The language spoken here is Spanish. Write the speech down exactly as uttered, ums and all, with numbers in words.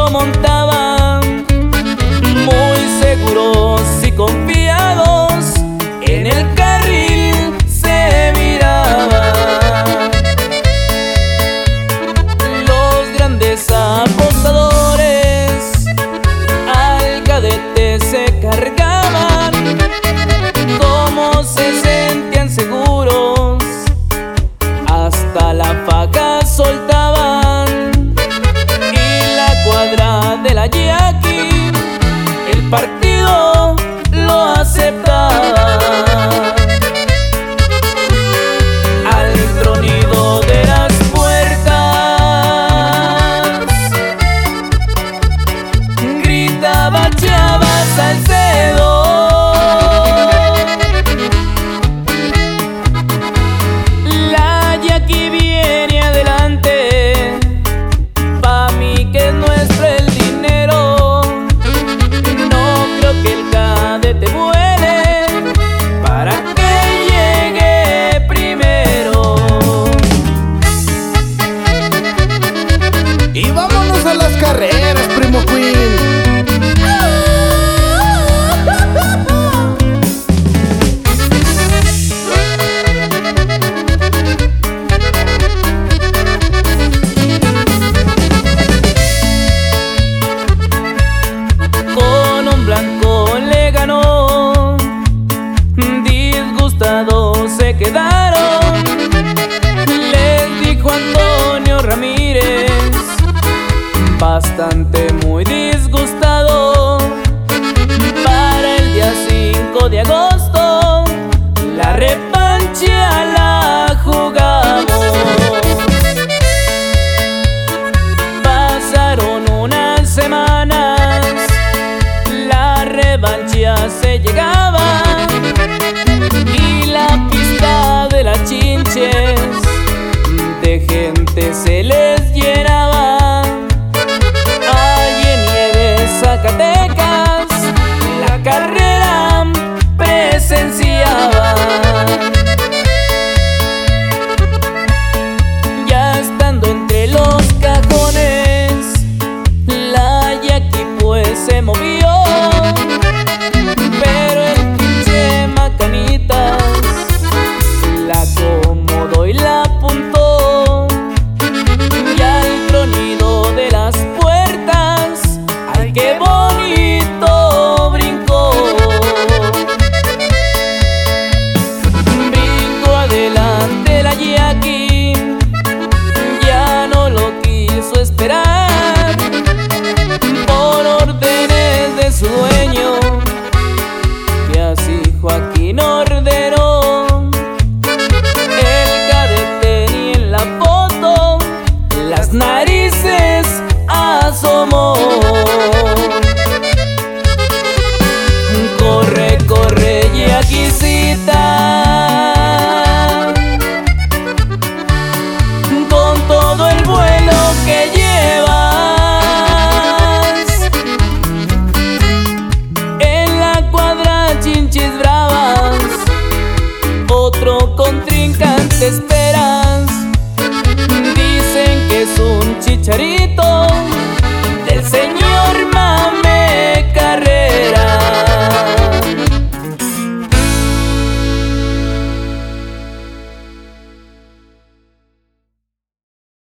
lo montaban, muy seguros y confiados, en el carril se miraban. Los grandes apostadores al cadete se cargaban, como se sentían seguros, hasta la faja soltaban. Y la cuadra de la Yaqui, el partido lo aceptaba. Al tronido de las puertas gritaba Chava Salcedo. La Yaqui viene adelante, pa' mí que es nuestro el dinero. No creo que el cadete vuele para que llegue primero. Y vámonos a las carreras, primo Queen. Con un blanco le ganó, disgustados se quedaron. Les dijo Antonio Ramírez, bastante muy disgustado. Para el día cinco de agosto la revancha la jugamos. Pasaron unas semanas, la revancha se llegaba y la pista de las Chinches de gente se les llenaba. Allí en Nieves, Zacatecas, la carrera presenciaba. Ya estando entre los cajones, la Yaqui pues se movió, pero el pinche Macanitas la acomodó y la apuntó. Y al tronido de las puertas, ¡ay, qué bonito brincó! Brincó adelante la Yaqui, ya no lo quiso esperar. Por órdenes de su dueño, que así Joaquín ordenó, el cadete ni en la foto las narices asomó. Corre, corre, Yaquicita, con todo el vuelo que llevas. En la cuadra Chinches bravas, otro contrincante esperas. Dicen que es un chicharito,